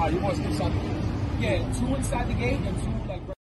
You want to inside the gate? Yeah, 2 inside the gate and 2 like.